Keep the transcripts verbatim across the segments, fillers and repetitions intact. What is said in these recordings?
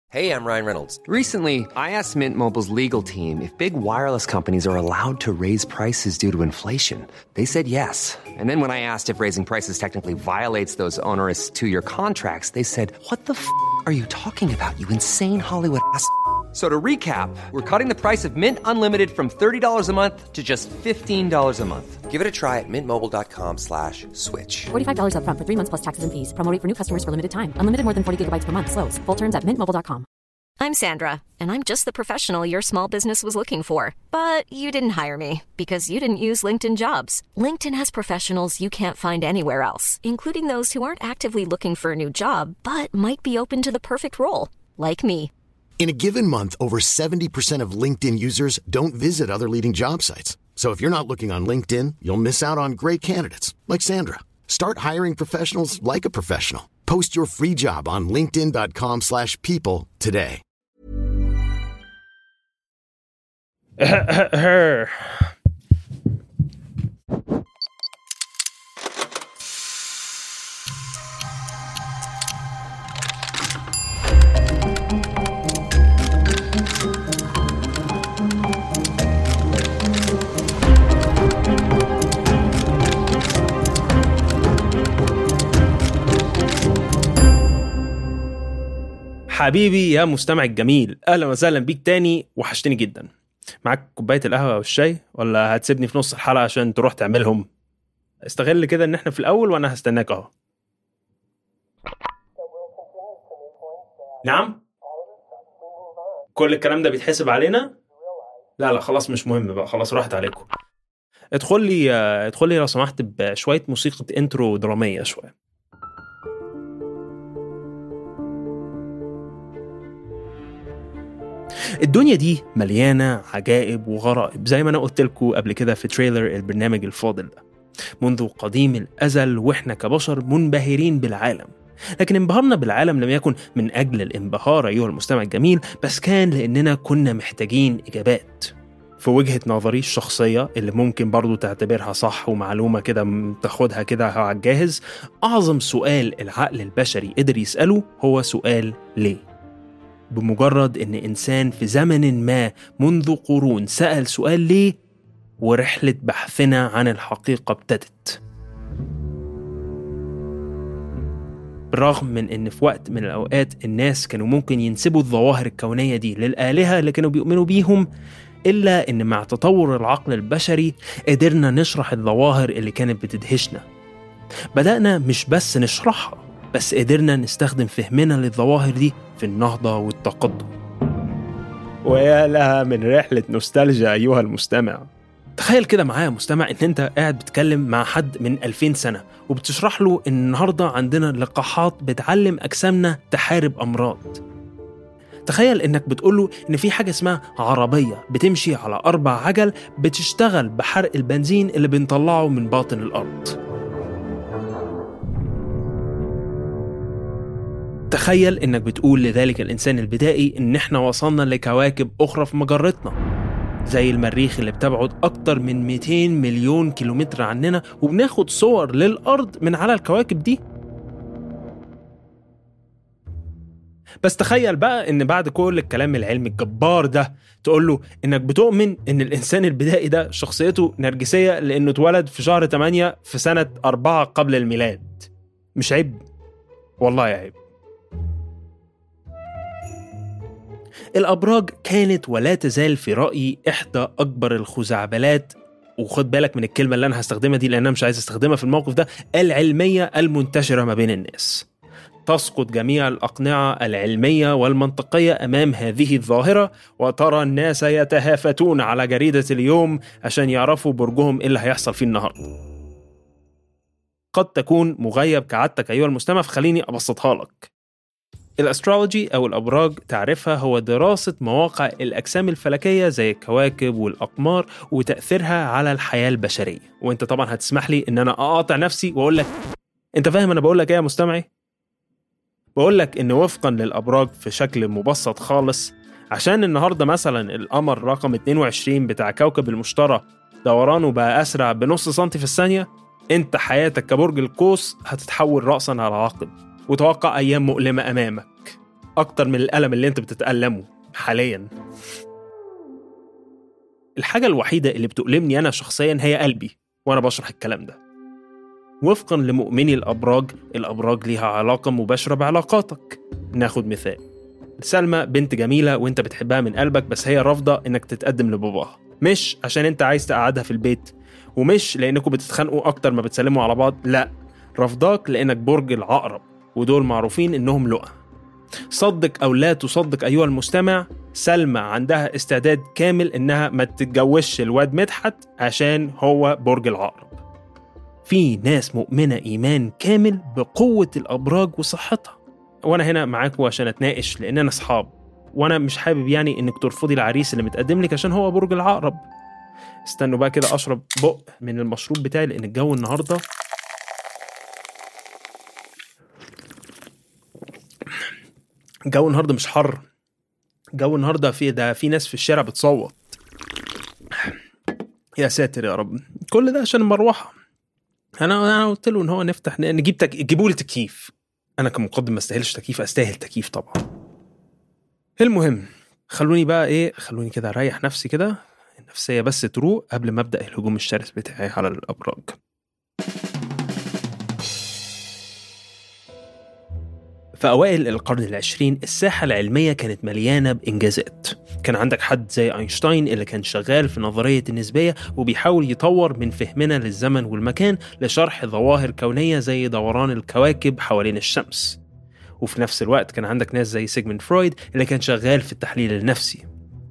Hey, I'm Ryan Reynolds. Recently, I asked Mint Mobile's legal team if big wireless companies are allowed to raise prices due to inflation. They said yes. And then when I asked if raising prices technically violates those onerous two-year contracts, they said, what the f*** are you talking about, you insane Hollywood ass f- So to recap, we're cutting the price of Mint Unlimited from thirty dollars a month to just fifteen dollars a month. Give it a try at mintmobile.com slash switch. forty-five dollars up front for three months plus taxes and fees. Promo rate for new customers for limited time. Unlimited more than forty gigabytes per month. Slows full terms at mint mobile dot com. I'm Sandra, and I'm just the professional your small business was looking for. But you didn't hire me because you didn't use LinkedIn Jobs. LinkedIn has professionals you can't find anywhere else, including those who aren't actively looking for a new job, but might be open to the perfect role, like me. In a given month, over seventy percent of LinkedIn users don't visit other leading job sites. So if you're not looking on LinkedIn, you'll miss out on great candidates like Sandra. Start hiring professionals like a professional. Post your free job on linkedin.com slash people today. حبيبي يا مستمع الجميل، أهلا وسهلا بيك تاني، وحشتني جدا. معاك كوباية القهوة والشاي ولا هتسيبني في نص الحلقة عشان تروح تعملهم؟ استغل كده ان احنا في الأول وانا هستناك اهو. نعم؟ كل الكلام ده بيتحسب علينا؟ لا لا خلاص مش مهم بقى، خلاص راحت عليكم. ادخل لي ادخل لي لو سمحت بشوية موسيقى انترو درامية شوية. الدنيا دي مليانة عجائب وغرائب زي ما أنا قلت لكم قبل كده في تريلر البرنامج الفاضل ده. منذ قديم الأزل وإحنا كبشر منبهرين بالعالم، لكن انبهارنا بالعالم لم يكن من أجل الانبهار أيها المستمع الجميل، بس كان لأننا كنا محتاجين إجابات. في وجهة نظري الشخصية اللي ممكن برضو تعتبرها صح ومعلومة كده تاخدها كده على الجاهز، أعظم سؤال العقل البشري قدر يسأله هو سؤال ليه؟ بمجرد إن إنسان في زمن ما منذ قرون سأل سؤال ليه، ورحلة بحثنا عن الحقيقة ابتدت. بالرغم من إن في وقت من الأوقات الناس كانوا ممكن ينسبوا الظواهر الكونية دي للآلهة اللي كانوا بيؤمنوا بيهم، إلا إن مع تطور العقل البشري قدرنا نشرح الظواهر اللي كانت بتدهشنا. بدأنا مش بس نشرحها، بس قدرنا نستخدم فهمنا للظواهر دي في النهضة والتقدم. ويا لها من رحلة نوستالجيا أيها المستمع. تخيل كده معايا مستمع إن أنت قاعد بتكلم مع حد من ألفين سنة وبتشرح له إن النهاردة عندنا لقاحات بتعلم أجسامنا تحارب أمراض. تخيل إنك بتقوله إن في حاجة اسمها عربية بتمشي على أربع عجل بتشتغل بحرق البنزين اللي بنطلعه من باطن الأرض. تخيل إنك بتقول لذلك الإنسان البدائي إن إحنا وصلنا لكواكب أخرى في مجرتنا، زي المريخ اللي بتبعد أكتر من مئتين مليون كيلومتر عننا، وبناخد صور للأرض من على الكواكب دي. بس تخيل بقى إن بعد كل الكلام العلمي الجبار ده تقوله إنك بتؤمن إن الإنسان البدائي ده شخصيته نرجسية لأنه اتولد في شهر ثمانية في سنة أربعة قبل الميلاد. مش عيب؟ والله عيب. الأبراج كانت ولا تزال في رأيي إحدى أكبر الخزعبلات، وخد بالك من الكلمة اللي أنا هستخدمها دي لأن أنا مش عايز استخدمها في الموقف ده، العلمية المنتشرة ما بين الناس. تسقط جميع الأقنعة العلمية والمنطقية أمام هذه الظاهرة، وترى الناس يتهافتون على جريدة اليوم عشان يعرفوا برجهم إيه اللي هيحصل فيه النهاردة. قد تكون مغيب كعادتك أيها المستمع، فخليني أبسطها لك. الأسترولوجي أو الأبراج تعرفها هو دراسة مواقع الأجسام الفلكية زي الكواكب والأقمار وتأثيرها على الحياة البشرية. وانت طبعا هتسمح لي ان انا اقاطع نفسي واقول لك انت فاهم انا بقول لك ايه يا مستمعي؟ بقول لك ان وفقا للأبراج في شكل مبسط خالص، عشان النهاردة مثلا القمر رقم اثنين وعشرين بتاع كوكب المشتري دورانه بقى أسرع بنص سنتي في الثانية، انت حياتك كبرج القوس هتتحول رأسا على عقب، وتوقع أيام مؤلمة أمامك. أكتر من الألم اللي أنت بتتألمه حالياً. الحاجة الوحيدة اللي بتؤلمني أنا شخصياً هي قلبي وأنا بشرح الكلام ده. وفقاً لمؤمني الأبراج، الأبراج ليها علاقة مباشرة بعلاقاتك. ناخد مثال، سلمى بنت جميلة وانت بتحبها من قلبك، بس هي رافضة انك تتقدم لباباها، مش عشان انت عايز تقعدها في البيت، ومش لانكم بتتخانقوا اكتر ما بتسلموا على بعض، لا، رافضاك لانك برج العقرب، ودول معروفين انهم لؤى. صدق او لا تصدق ايها المستمع، سلمى عندها استعداد كامل انها ما تتجوزش الواد مدحت عشان هو برج العقرب. في ناس مؤمنة ايمان كامل بقوة الابراج وصحتها، وانا هنا معاكم عشان اتناقش لاننا اصحاب، وانا مش حابب يعني انك ترفضي العريس اللي متقدم لك عشان هو برج العقرب. استنوا بقى كده اشرب بق من المشروب بتاعي، لان الجو النهارده الجو النهارده مش حر، الجو النهارده في ده في ناس في الشارع بتصوت. يا ساتر يا رب، كل ده عشان المروحه. انا انا قلت له ان هو نفتح نجيب تك... جيبوا لي تكييف. انا كمقدم ما استاهلش تكييف، استاهل تكييف طبعا. المهم خلوني بقى ايه خلوني كده اريح نفسي كده، النفسيه بس تروق قبل ما ابدا الهجوم الشرس بتاعي على الابراج. في أوائل القرن العشرين الساحة العلمية كانت مليانة بإنجازات. كان عندك حد زي أينشتاين اللي كان شغال في نظرية النسبية وبيحاول يطور من فهمنا للزمن والمكان لشرح ظواهر كونية زي دوران الكواكب حوالين الشمس. وفي نفس الوقت كان عندك ناس زي سيغموند فرويد اللي كان شغال في التحليل النفسي.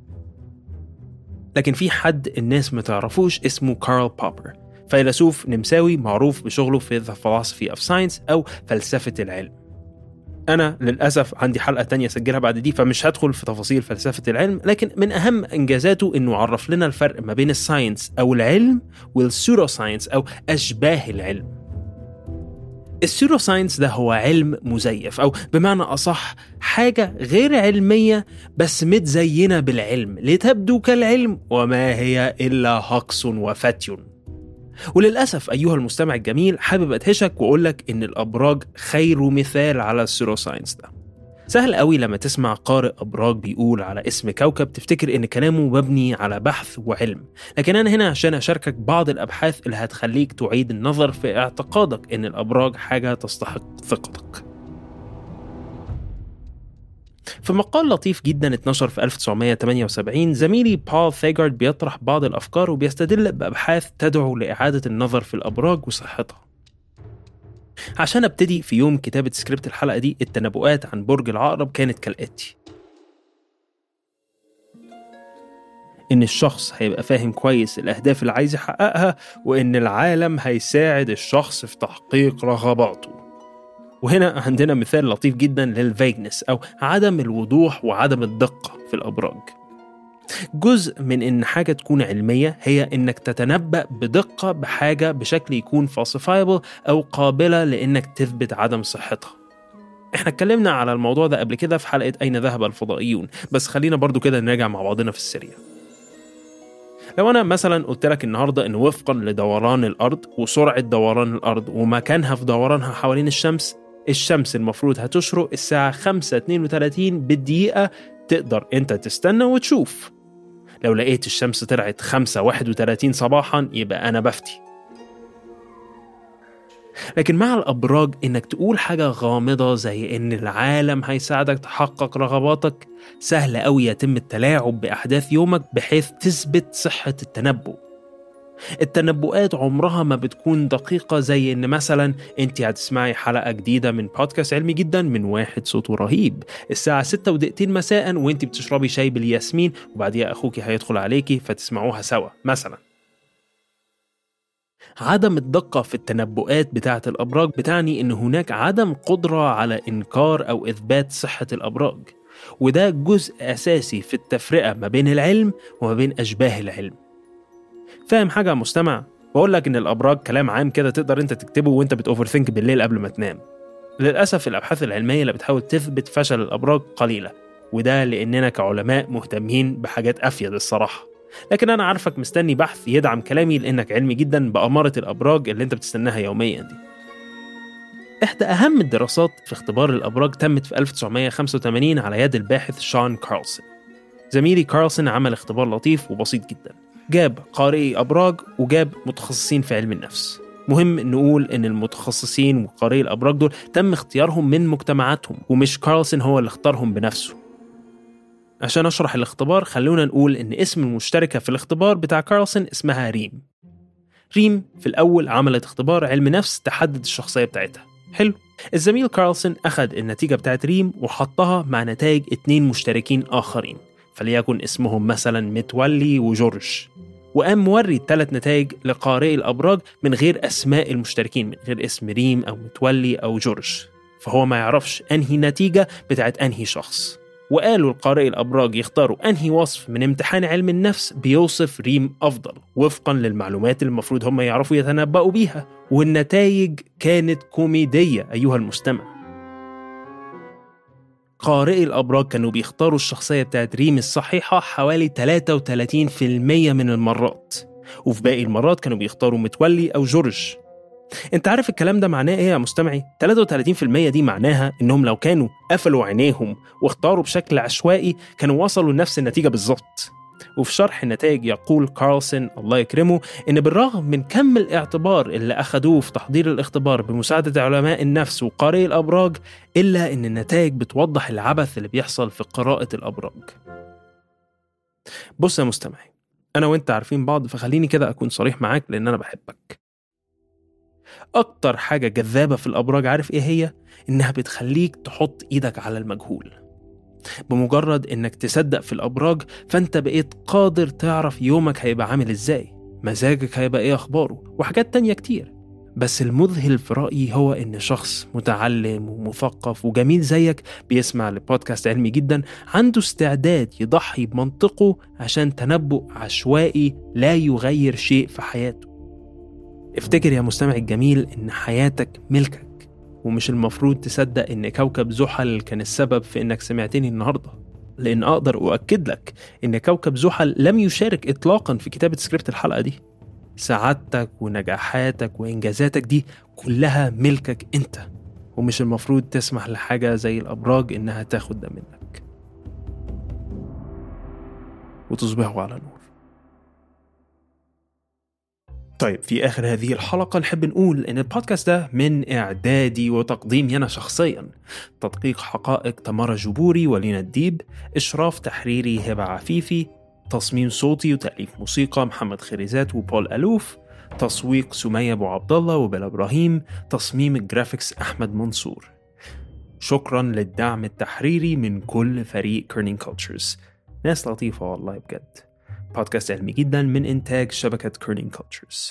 لكن في حد الناس ما تعرفوش اسمه كارل بوبر، فيلسوف نمساوي معروف بشغله في The Philosophy of Science أو فلسفة العلم. أنا للأسف عندي حلقة تانية سجلها بعد دي، فمش هدخل في تفاصيل فلسفة العلم، لكن من أهم إنجازاته إنه عرف لنا الفرق ما بين الساينس أو العلم والسورو ساينس أو أشباه العلم. السورو ساينس ده هو علم مزيف، أو بمعنى أصح حاجة غير علمية بس متزينة بالعلم لتبدو كالعلم وما هي إلا هقص وفتي. وللأسف أيها المستمع الجميل، حابب أدهشك وأقولك إن الأبراج خير مثال على السورو ساينس ده. سهل قوي لما تسمع قارئ أبراج بيقول على اسم كوكب تفتكر إن كلامه مبني على بحث وعلم، لكن أنا هنا عشان أشاركك بعض الأبحاث اللي هتخليك تعيد النظر في اعتقادك إن الأبراج حاجة تستحق ثقتك. في مقال لطيف جدا اتنشر في ألف وتسعمية وتمانية وسبعين، زميلي بول ثيغارد بيطرح بعض الأفكار وبيستدل بأبحاث تدعو لإعادة النظر في الأبراج وصحتها. عشان ابتدي في يوم كتابة سكريبت الحلقة دي، التنبؤات عن برج العقرب كانت كالآتي: إن الشخص هيبقى فاهم كويس الأهداف اللي عايز يحققها، وإن العالم هيساعد الشخص في تحقيق رغباته. وهنا عندنا مثال لطيف جدا للفيجنس أو عدم الوضوح وعدم الدقة في الأبراج. جزء من إن حاجة تكون علمية هي إنك تتنبأ بدقة بحاجة بشكل يكون falsifiable أو قابلة لإنك تثبت عدم صحتها. إحنا اتكلمنا على الموضوع ده قبل كده في حلقة أين ذهب الفضائيون، بس خلينا برضو كده نراجع مع بعضنا في السريع. لو أنا مثلا قلت لك النهاردة إن وفقا لدوران الأرض وسرعة دوران الأرض ومكانها في دورانها حوالين الشمس، الشمس المفروض هتشرق الساعة خمسة اتنين وتلاتين بالدقيقة، تقدر أنت تستنى وتشوف. لو لقيت الشمس طلعت خمسة واحد وتلاتين صباحا يبقى أنا بفتي. لكن مع الأبراج إنك تقول حاجة غامضة زي إن العالم هيساعدك تحقق رغباتك، سهل أوي يتم التلاعب بأحداث يومك بحيث تثبت صحة التنبؤ. التنبؤات عمرها ما بتكون دقيقة، زي إن مثلا أنت هتسمعي حلقة جديدة من بودكاست علمي جدا من واحد صوته رهيب الساعة ستة ودقيقتين مساء وأنت بتشربي شاي بالياسمين، وبعديها أخوكي هيدخل عليكي فتسمعوها سوا مثلا. عدم الدقة في التنبؤات بتاعة الأبراج بتعني إن هناك عدم قدرة على إنكار أو إثبات صحة الأبراج، وده جزء أساسي في التفرقة ما بين العلم وما بين أشباه العلم. فاهم حاجة مستمع؟ بقول لك إن الأبراج كلام عام كده تقدر أنت تكتبه وأنت بتأوفرثينك بالليل قبل ما تنام. للأسف الأبحاث العلمية اللي بتحاول تثبت فشل الأبراج قليلة، وده لأننا كعلماء مهتمين بحاجات أفيد الصراحة. لكن أنا عارفك مستني بحث يدعم كلامي لأنك علمي جدا بأمارة الأبراج اللي أنت بتستناها يوميا دي. إحدى أهم الدراسات في اختبار الأبراج تمت في ألف وتسعمية وخمسة وثمانين على يد الباحث شون كارلسون. زميلي كارلسون عمل اختبار لطيف وبسيط جدا، جاب قارئي أبراج وجاب متخصصين في علم النفس. مهم نقول إن المتخصصين وقارئي الأبراج دول تم اختيارهم من مجتمعاتهم، ومش كارلسون هو اللي اختارهم بنفسه. عشان أشرح الاختبار خلونا نقول إن اسم المشتركة في الاختبار بتاع كارلسون اسمها ريم. ريم في الأول عملت اختبار علم نفس تحدد الشخصية بتاعتها. حلو. الزميل كارلسون أخذ النتيجة بتاعت ريم وحطها مع نتائج اتنين مشتركين آخرين، فليكن اسمهم مثلا متولي وجورج، وقام موري الثلاث نتائج لقارئي الأبراج من غير أسماء المشتركين، من غير اسم ريم أو متولي أو جورج، فهو ما يعرفش أنهي نتيجة بتاعت أنهي شخص. وقالوا القارئي الأبراج يختاروا أنهي وصف من امتحان علم النفس بيوصف ريم أفضل وفقا للمعلومات اللي المفروض هم يعرفوا يتنبؤوا بيها، والنتائج كانت كوميدية أيها المستمع. قارئي الأبراج كانوا بيختاروا الشخصية بتاعت ريم الصحيحة حوالي ثلاثة وثلاثين بالمية من المرات، وفي باقي المرات كانوا بيختاروا متولي أو جورج. انت عارف الكلام ده معناه ايه يا مستمعي؟ ثلاثة وثلاثين بالمية دي معناها انهم لو كانوا قفلوا عينيهم واختاروا بشكل عشوائي كانوا وصلوا لنفس النتيجة بالظبط. وفي شرح النتائج يقول كارلسون الله يكرمه إن بالرغم من كم الاعتبار اللي أخدوه في تحضير الاختبار بمساعدة علماء النفس وقارئي الأبراج، إلا إن النتائج بتوضح العبث اللي بيحصل في قراءة الأبراج. بص يا مستمعي، أنا وإنت عارفين بعض، فخليني كده أكون صريح معاك لأن أنا بحبك. أكتر حاجة جذابة في الأبراج عارف إيه هي؟ إنها بتخليك تحط إيدك على المجهول. بمجرد إنك تصدق في الأبراج فأنت بقيت قادر تعرف يومك هيبقى عامل إزاي، مزاجك هيبقى إيه أخباره، وحاجات تانية كتير. بس المذهل في رأيي هو إن شخص متعلم ومثقف وجميل زيك بيسمع لبودكاست علمي جدا عنده استعداد يضحي بمنطقه عشان تنبؤ عشوائي لا يغير شيء في حياته. افتكر يا مستمع الجميل إن حياتك ملكك، ومش المفروض تصدق إن كوكب زحل كان السبب في إنك سمعتني النهاردة، لأن أقدر أؤكد لك إن كوكب زحل لم يشارك إطلاقا في كتابة سكريبت الحلقة دي. سعادتك ونجاحاتك وإنجازاتك دي كلها ملكك أنت، ومش المفروض تسمح لحاجة زي الأبراج إنها تاخد ده منك. وتصبحوا على نور. طيب، في آخر هذه الحلقة نحب نقول إن البودكاست ده من إعدادي وتقديمي أنا شخصياً، تدقيق حقائق تمارا جبوري ولينا الديب، إشراف تحريري هبة عفيفي، تصميم صوتي وتأليف موسيقى محمد خريزات وبول ألوف، تسويق سمية أبو عبد الله وبلا إبراهيم، تصميم الجرافيكس أحمد منصور. شكراً للدعم التحريري من كل فريق كيرنينج كولتشرز، ناس لطيفة والله بجد. بودكاست علمي جدا من إنتاج شبكة كيرنينج كولتشرز.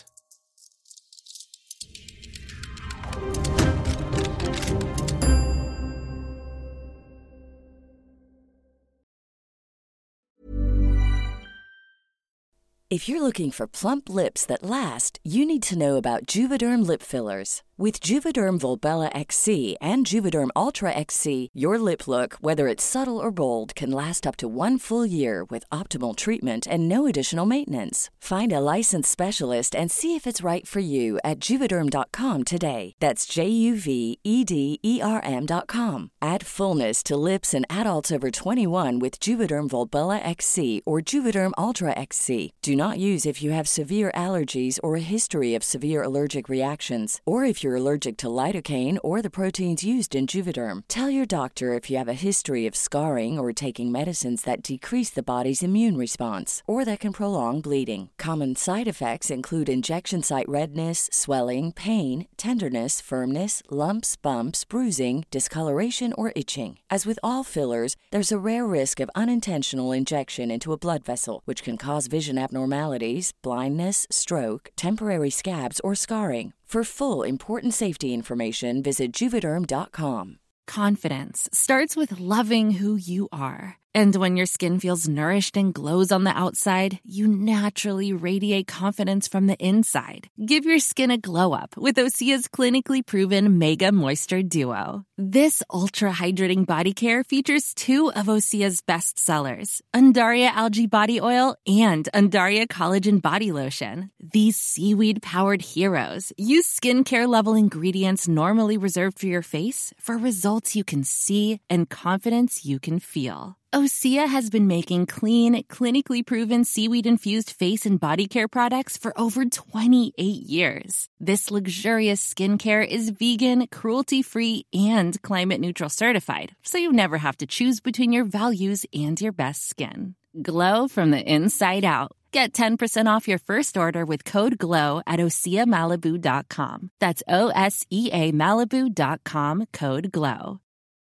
If you're looking for plump lips that last, you need to know about Juvederm lip fillers. With Juvederm Volbella X C and Juvederm Ultra X C, your lip look, whether it's subtle or bold, can last up to one full year with optimal treatment and no additional maintenance. Find a licensed specialist and see if it's right for you at Juvederm dot com today. That's J U V E D E R M dot com. Add fullness to lips in adults over twenty-one with Juvederm Volbella X C or Juvederm Ultra X C. Do not use if you have severe allergies or a history of severe allergic reactions, or if you're allergic to lidocaine or the proteins used in Juvederm. Tell your doctor if you have a history of scarring or taking medicines that decrease the body's immune response or that can prolong bleeding. Common side effects include injection site redness, swelling, pain, tenderness, firmness, lumps, bumps, bruising, discoloration, or itching. As with all fillers, there's a rare risk of unintentional injection into a blood vessel, which can cause vision abnormalities, blindness, stroke, temporary scabs, or scarring. For full important safety information, visit Juvederm dot com. Confidence starts with loving who you are. And when your skin feels nourished and glows on the outside, you naturally radiate confidence from the inside. Give your skin a glow up with Osea's clinically proven Mega Moisture Duo. This ultra-hydrating body care features two of Osea's best sellers, Undaria Algae Body Oil and Undaria Collagen Body Lotion. These seaweed-powered heroes use skincare-level ingredients normally reserved for your face for results you can see and confidence you can feel. Osea has been making clean, clinically proven seaweed-infused face and body care products for over twenty-eight years. This luxurious skincare is vegan, cruelty-free, and climate-neutral certified, so you never have to choose between your values and your best skin. Glow from the inside out. Get ten percent off your first order with code GLOW at osea malibu dot com. That's O S E A Malibu dot com, code GLOW.